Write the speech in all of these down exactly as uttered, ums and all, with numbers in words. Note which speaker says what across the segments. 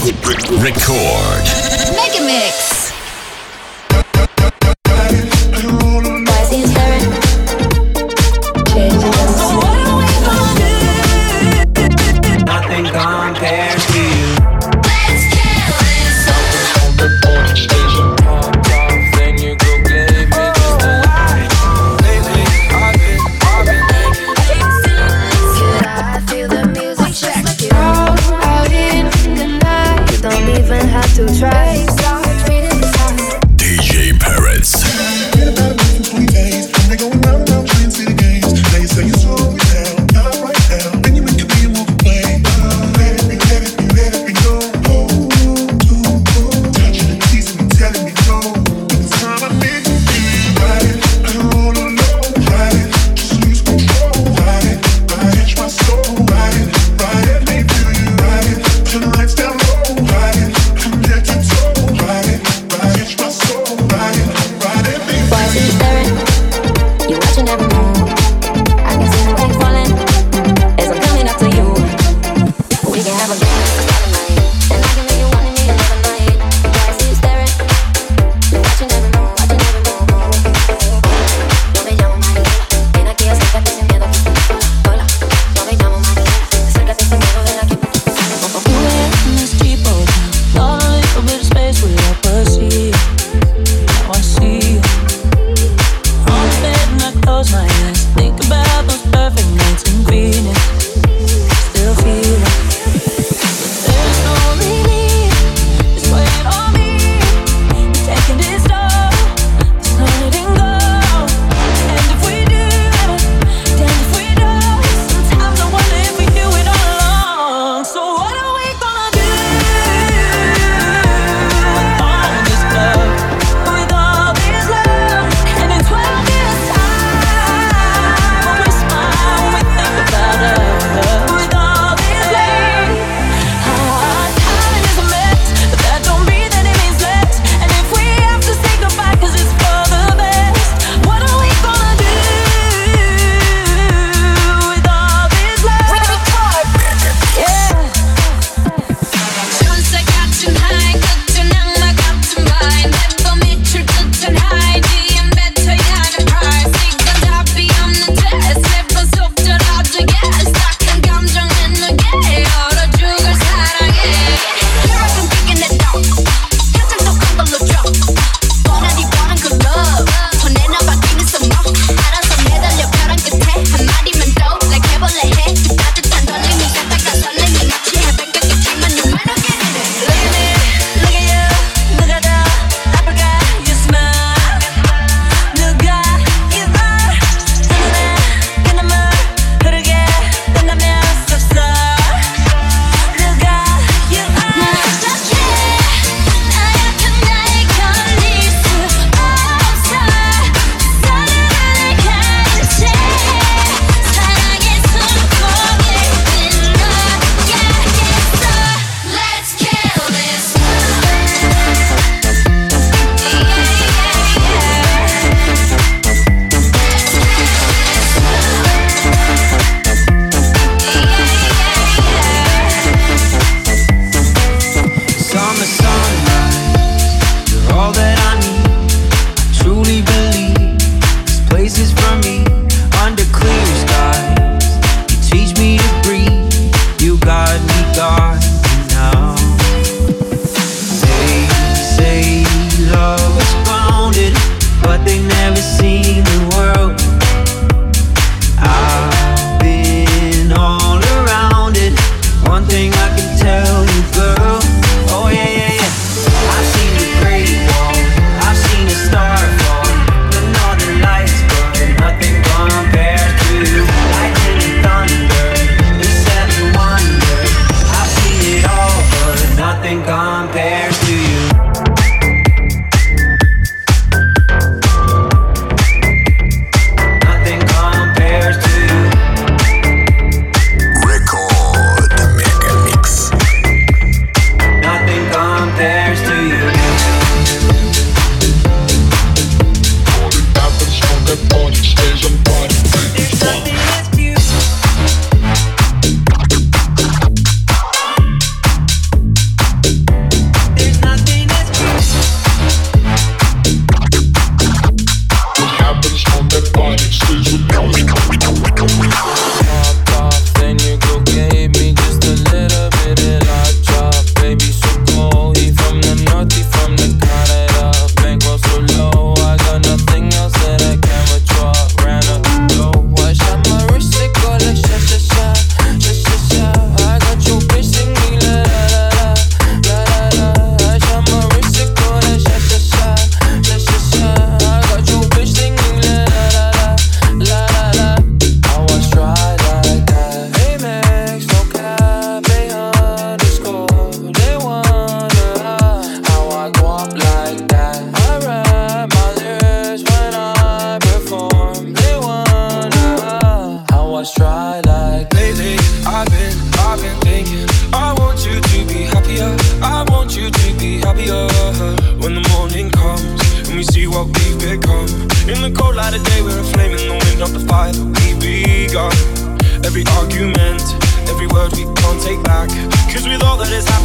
Speaker 1: Record.
Speaker 2: Mega Mix.
Speaker 3: Nothing compares to you.
Speaker 2: Let's kill this.
Speaker 4: Then you go give me just a lie. Lately, I've been, I've been thinking.
Speaker 5: I feel the music just like you. Out in the night, you don't even have to try.
Speaker 1: D J Perez.
Speaker 6: Been about a month and twenty days. They going round and round playing city games. Now you say you slow me down, not right now. Then you make a me and walk away. Let it be, let it be, let it be known. Oh, oh, oh. Touching and teasing and telling me no. But this time I make you feel ride it. I don't roll alone, ride it. Just lose control, ride it. Ride it, my soul, ride it. Ride it, make me feel you, ride it. Turn the lights down low, ride it. I'm head to toe, ride it. Ride it, my soul, ride it. Ride it, make me
Speaker 5: Why is he staring? You watching every move. I can see the rain falling as I'm coming up to you. We can have a dance and I can make you want me another night. Why is he staring? You watching every move, watching every move. Yo me llamo María, ven aquí, acércate sin miedo. Hola, yo me llamo María, acércate sin miedo, ven aquí.
Speaker 7: We're in this deep old town, got a little bit of space we all pursue. Now I see you on the bed and I close my eyes. Think about those perfect nights in Venus. Still feel it, but there's no relief. It's weighing on me. It's taking its toll. There's no letting go. And if we do, damn if we don't. Sometimes I wonder if we do it all along. So what are we gonna do with all this love, with all this love? And in twelve years time, when we smile, when we think about us, with all this love, our timing is a mess, but that don't mean that it means less. And if we have to say goodbye 'cause it's for the best, what are we gonna do with all this love? Yeah.
Speaker 2: 천사가 tonight, 끝은 악마가 tonight. 내도 밑을 끝은 high, 뒤엔 뱉어야 하는 price. 이건 답이 없는 test, 슬픈 속절하지 yes. 딱한 감정은 너게 얼어 죽을 사랑해. Here I come kicking it down, 가장 독한 걸로 drop. 뻔하디 뻔한 그 love, 혼내나 바뀌는 some more. 알아서 매달려 벼랑 끝에 한마디만 더 like 해볼래 해. 그 따뜻한 떨림이 갔다가 설렘이 마치 해변가겠지만 you might not get in it.
Speaker 7: Look at me, look at you. 누가 더 아플까? You smile. 누가 you are. 눈에 그 눈물 흐르게 된다면 섭섭. 누가 you are.
Speaker 2: 어떡해 나약한 나에 걸릴 수 없어. 사랑을 가르쳐 사랑의 손목에 끊어야겠어. Let's kill this.
Speaker 3: Summer sunrise, you're all that I need. I truly believe this place is for me. Under clear skies, you teach me to breathe. You got me guarded now. They say love is grounded, but they never seen the world. I've been all around it. One thing I can tell you, girl. Oh yeah, yeah, yeah. I've seen the great wall, I've seen the star fall, but all the lights, but nothing compares to you. Lightning and thunder, the seven wonders. I've seen it all, but nothing compares to you. Nothing compares to you.
Speaker 1: Record. Mega Mix.
Speaker 3: Nothing compares to you.
Speaker 4: There's nothing that's beautiful.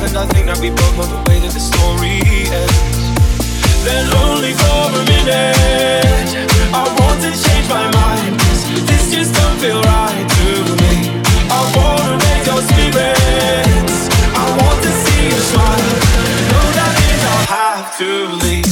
Speaker 4: And I think that we both know the way that the story ends. Then only for a minute I want to change my mind, 'cause this just don't feel right to me. I wanna raise your spirits, I want to see you smile. Know that means I'll have to leave.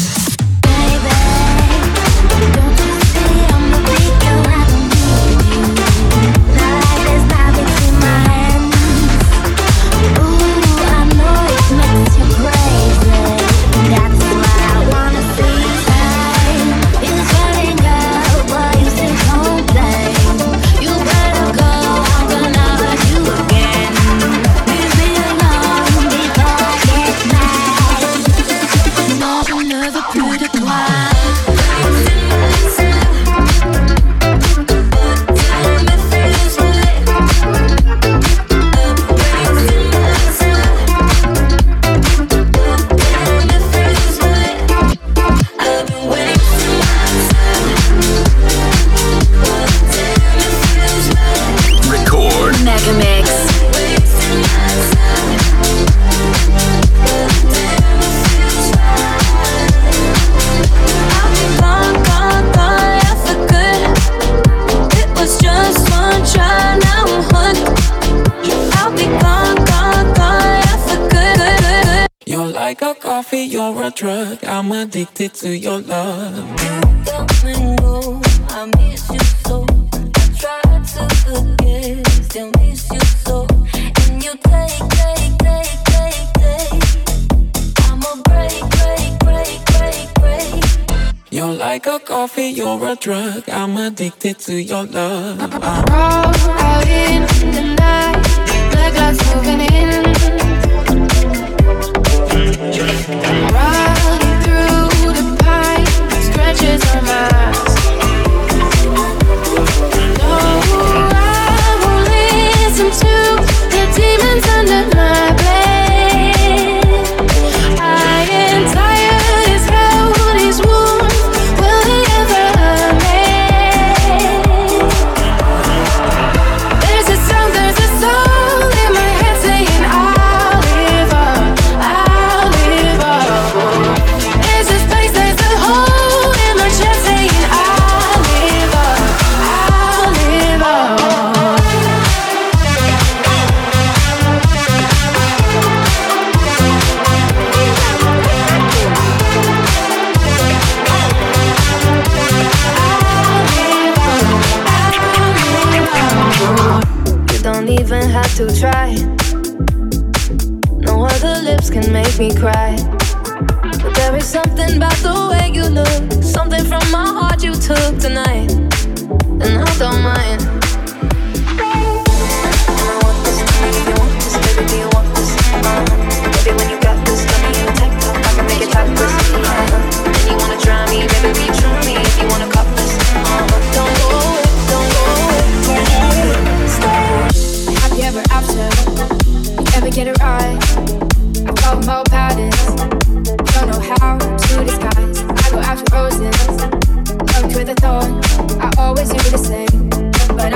Speaker 7: You're a drug, I'm addicted to your love.
Speaker 5: You come and go, I miss you so. I try to forget, still miss you so. And you take, take, take, take, take. I'm a break, break, break, break, break.
Speaker 7: You're like a coffee, you're a drug, I'm addicted to your love. I'm
Speaker 8: all out in the night, the glass moving in. Riding through the pine, stretches our minds. No, I won't listen to the demons under my bed. I am tired as hell, these wounds will they ever mend? There's a song, there's a soul in my head saying I'll live up, I'll live up. There's a space, there's a hole in my chest saying I'll live up, I'll live up. You don't even have to try. No other lips can make me cry. But there is something about the way you look, something from my heart you took tonight, and I don't mind. I want this, do you want this, baby, do you want this? Uh-huh. Baby, when you got this, let me in a tank top, I can make it topless. Uh-huh. And you wanna try me, baby, be true me if you wanna cop this. Uh-huh. Don't go away, don't go away, stay. Have you ever after? You ever get it right? I call them all patterns. Don't know how to disguise. I go after roses, looked with a thorn. I always do the same, but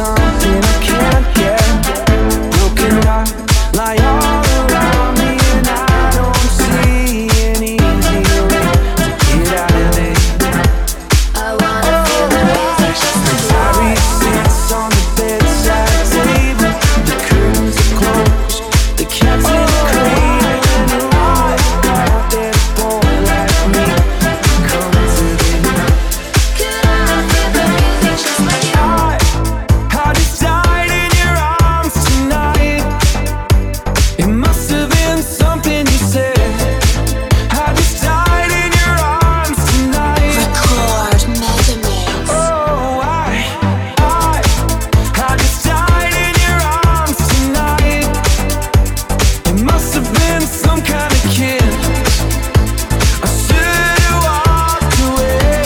Speaker 3: something I can't get. Broken heart lie all around me, and I don't see an easy way to get out of it.
Speaker 5: I wanna feel the music just like you.
Speaker 3: Diary sits on the bedside table. The curtains are closed, the cat's in the cradle, and who would have thought that a boy like me would come to this?
Speaker 5: Could I feel the music just like you?
Speaker 3: I, I just died in your arms tonight. It must have been something you said. I just died in your arms tonight.
Speaker 2: Record Megamix.
Speaker 3: Oh, I, I, I just died in your arms tonight. It must have been some kind of kiss. I should have walked away.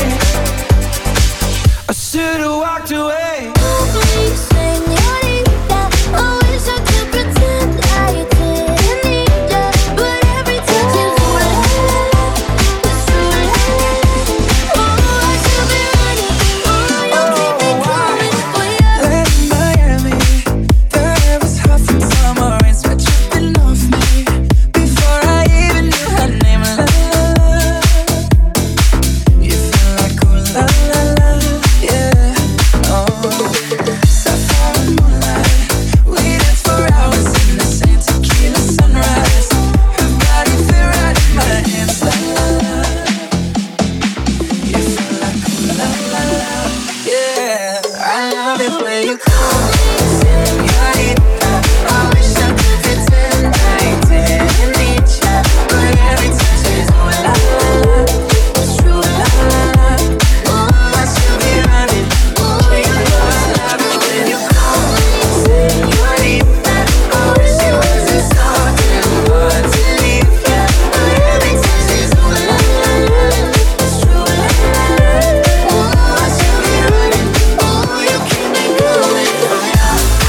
Speaker 3: I should have walked away.
Speaker 5: Please, señorita, I wish I could pretend I didn't need ya, but every touch is ooh la la, it's ooh la la. Oh, I should be running, oh, you keep me coming for ya.
Speaker 3: Late in Miami, the air was hot from summer rain, sweat dripping off me. Before I even knew her name, la la la. You feel like ooh la la la, yeah. Oh, sapphire moonlight, we danced for hours in the same tequila sunrise. Her body fit right in my hands, la la la. You feel like ooh la la la, yeah. I love it when you call me señorita. I wish I could pretend I didn't need ya, but every touch is ooh la la la, it's true la la la. Oh, I should be running, oh, you know I love it when you call me señorita. I wish it wasn't so damn hard to leave ya, but every touch is ooh la la la, it's true la la la. Oh, I should be running, oh, you keep me going for ya.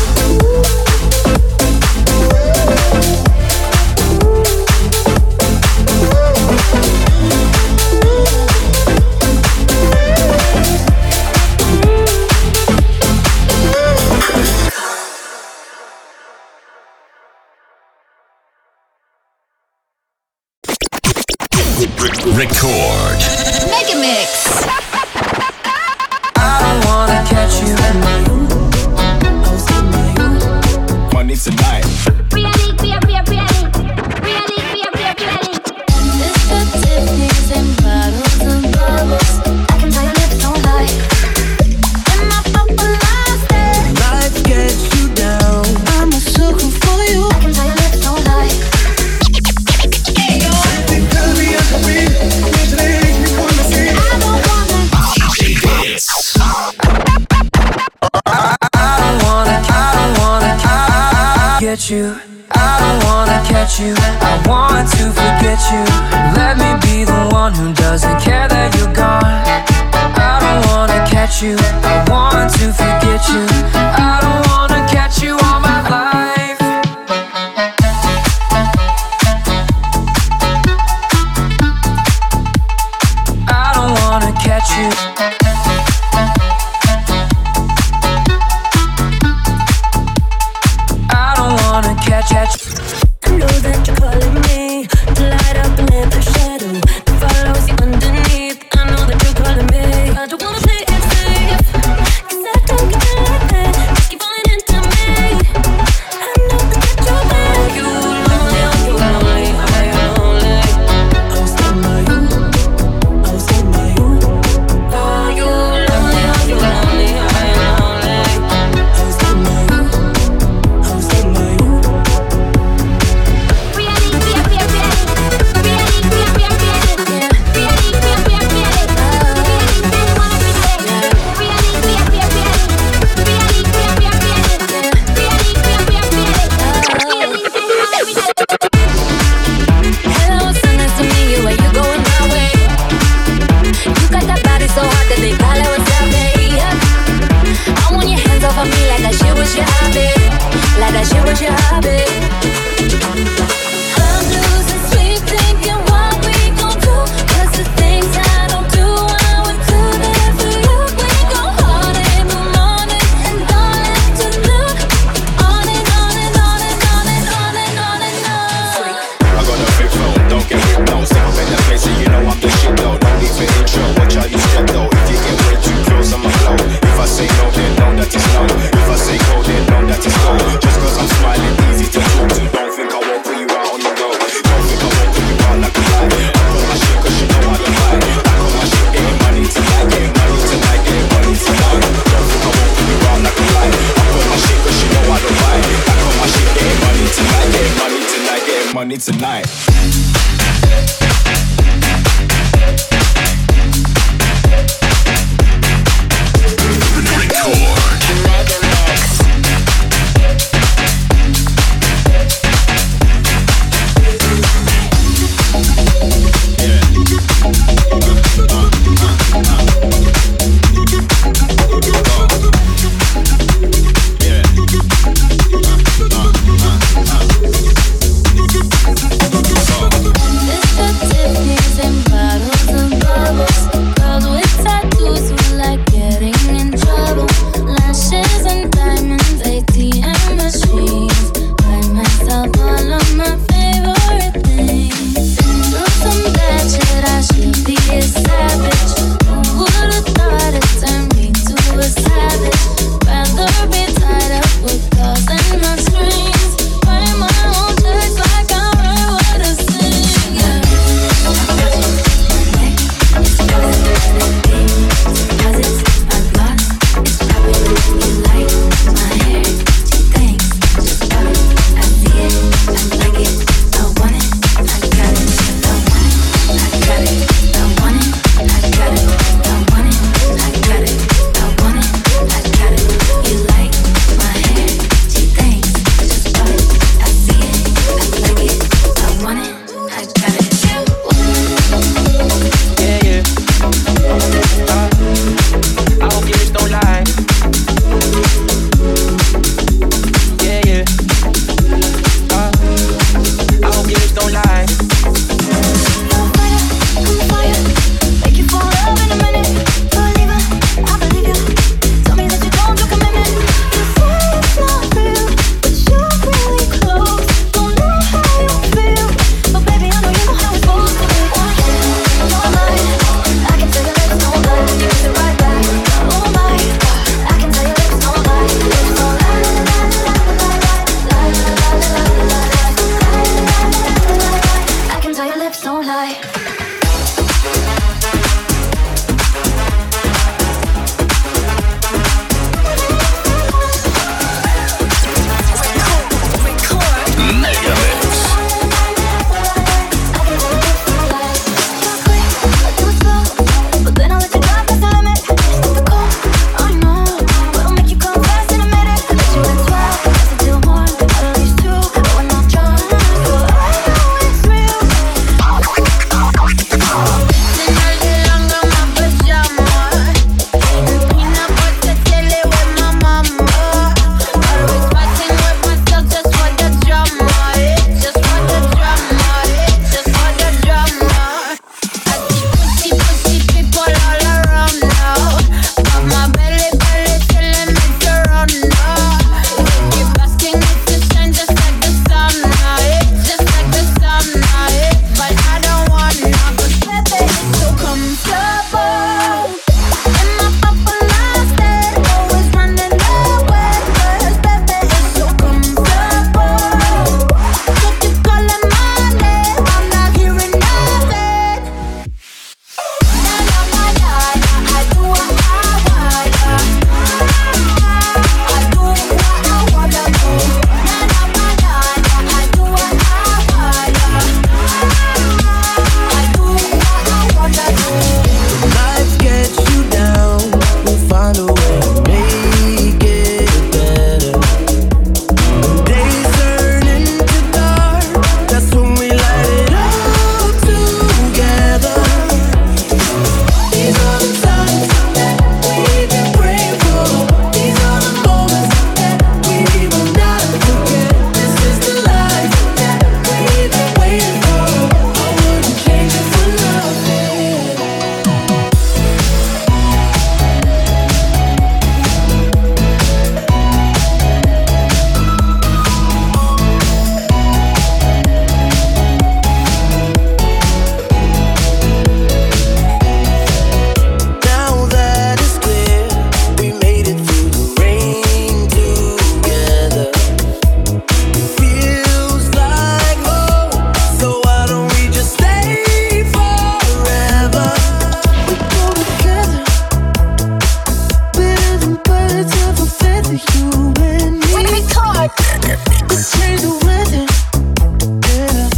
Speaker 1: Record.
Speaker 2: Megamix.
Speaker 3: I don't wanna catch you in my room.
Speaker 1: Money tonight.
Speaker 5: Really, really, really, really, really, really. It's the Tiffany's and bottles and bubbles. I can tell your lips don't lie. In my purple lipstick,
Speaker 3: Life gets you down. I'm a sucker for you.
Speaker 5: I can tell your lips don't lie. I don't wanna.
Speaker 3: I don't wanna, I don't wanna get you. I don't wanna catch you. I want to forget you. Let me be the one who doesn't care that you're gone. I don't wanna catch you. I want to forget you. I don't wanna catch you all my life. I don't wanna catch you. I don't wanna catch catch.
Speaker 7: I know that you're calling me to light up and let the shadow that follows you underneath. I know that you're calling me. I don't wanna play it safe, 'cause I don't get like that. Just keep falling into me. I know that you're bad. You lonely, oh you lonely, oh you lonely. I was in my you, I was in my you. Oh you lonely, oh you lonely, oh you lonely. I was in my you, I was in my you.
Speaker 1: money tonight.
Speaker 9: Change the weather, yeah.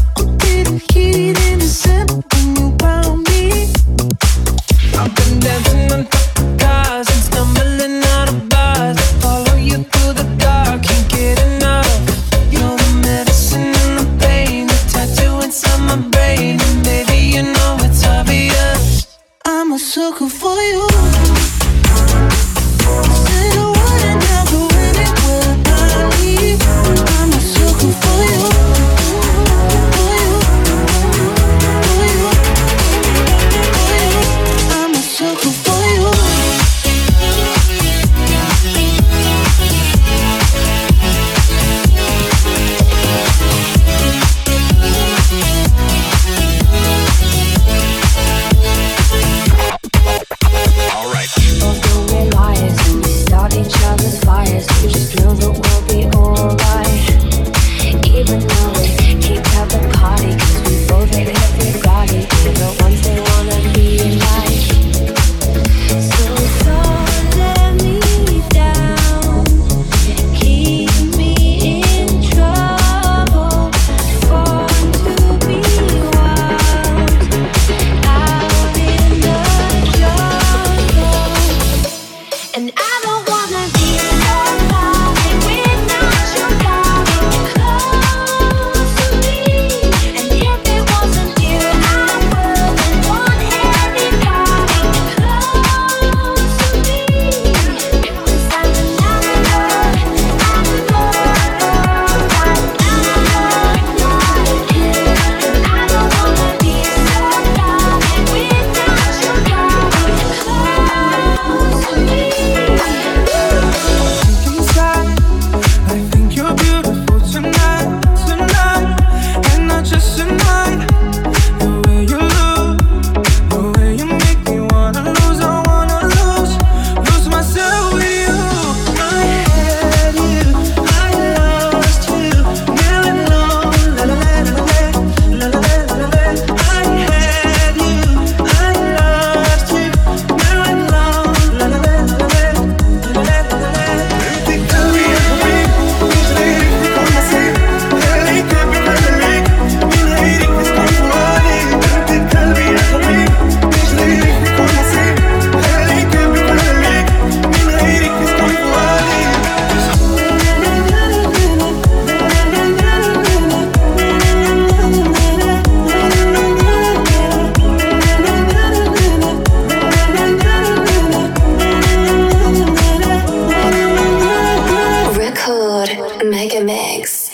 Speaker 2: Megamix.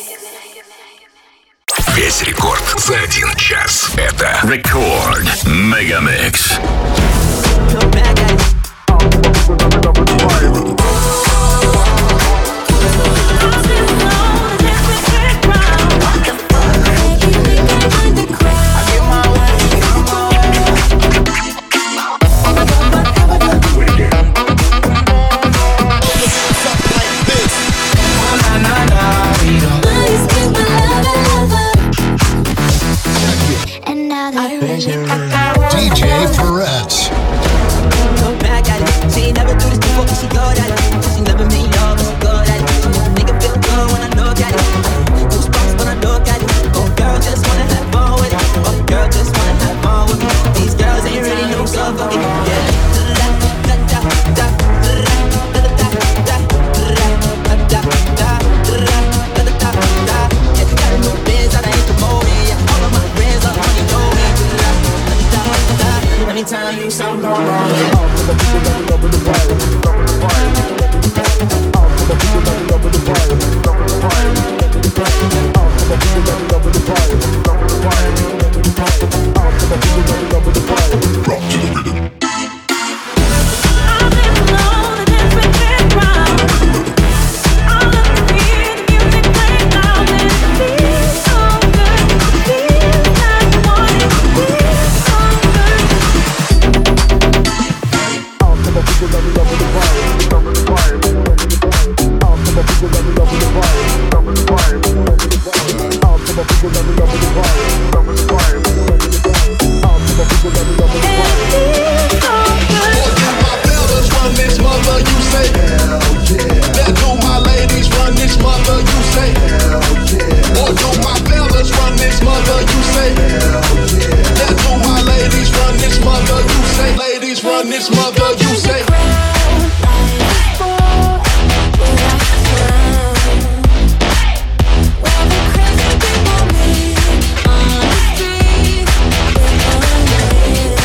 Speaker 1: Весь рекорд за один час. Это Record Megamix.
Speaker 9: ди джей Perez.
Speaker 3: Back at it. She ain't never do this before, but she good at it. She never made love, but she good at it. She make a nigga feel good when I look at it. Goosebumps when I look at it. Oh, girl, just wanna have fun with it. Oh, girl, just wanna have fun with me. These girls ain't really no good for me. Yeah. Anytime you sound wrong,
Speaker 2: Yeah.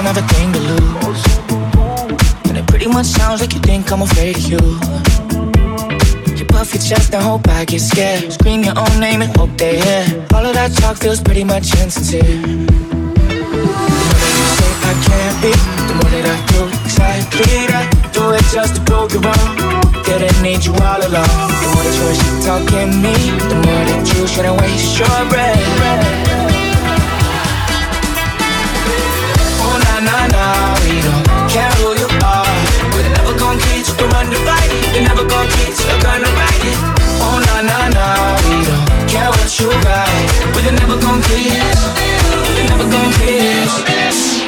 Speaker 10: have a thing to lose. And it pretty much sounds like you think I'm afraid of you. You puff your chest and hope I get scared. Scream your own name and hope they hear. All of that talk feels pretty much insincere. The more that you say I can't be, the more that I do exactly that. Do it just to prove you wrong. Didn't need you all along. The more that you're shit talking me, the more that you shouldn't waste your breath. Oh na na na, we don't care who you are. We're never gonna teach you to run the fight. You're never gonna teach you're gonna ride it. Oh na na na, we don't care what you write. We're never gonna kiss. We're never gonna kiss.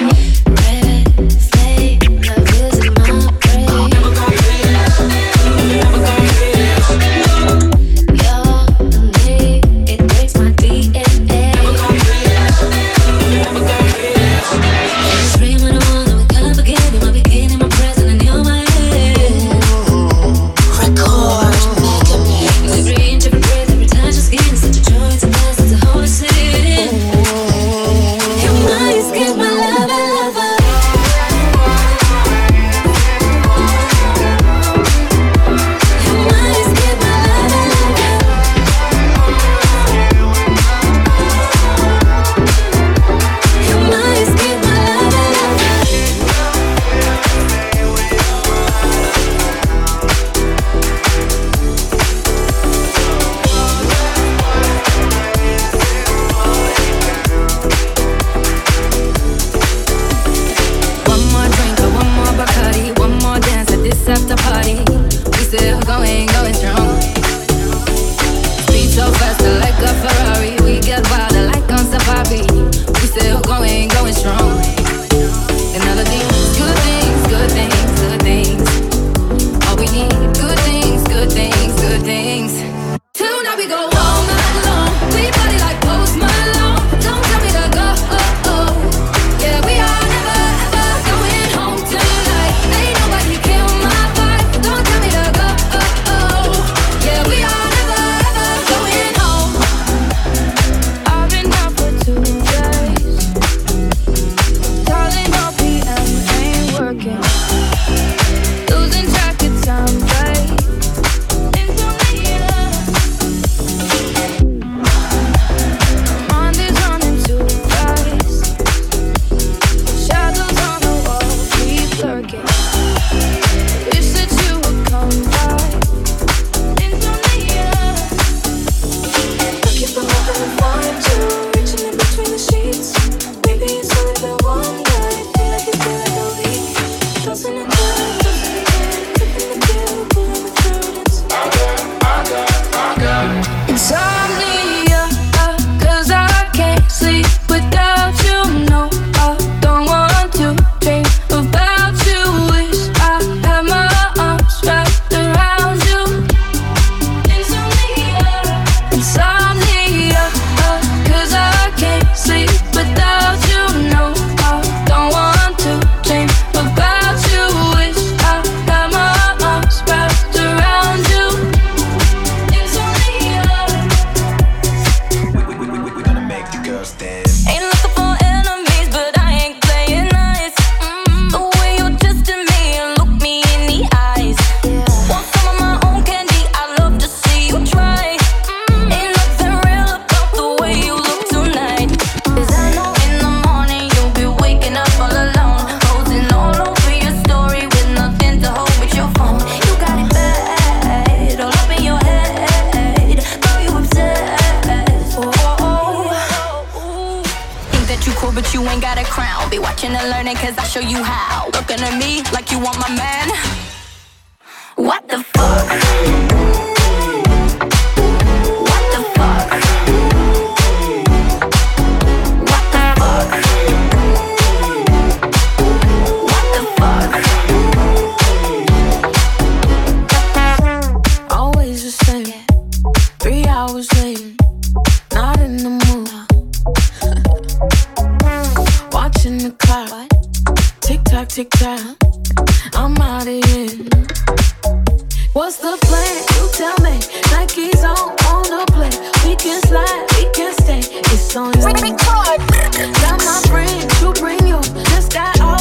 Speaker 7: What's the plan? You tell me. Nike's on, on the play. We can slide, we can stay. It's on you. Got my friends, you bring you. Just got all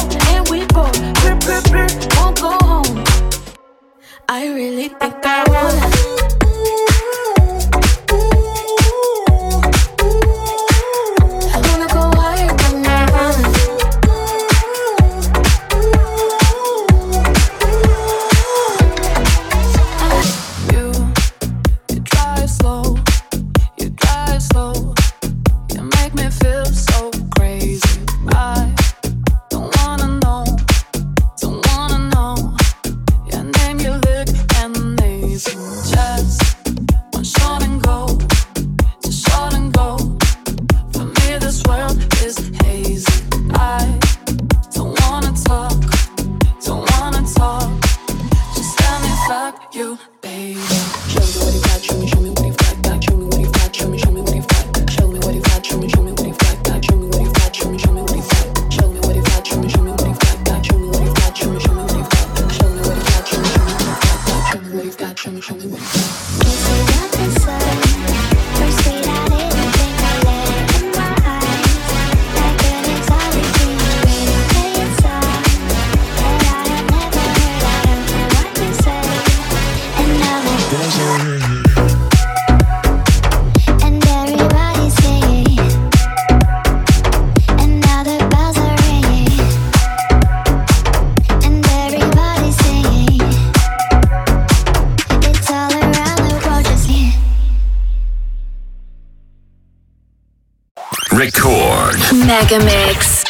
Speaker 2: Mega Mix.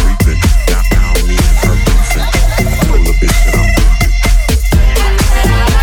Speaker 6: Now, now me and her beefing. Told a bitch that I'm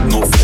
Speaker 11: no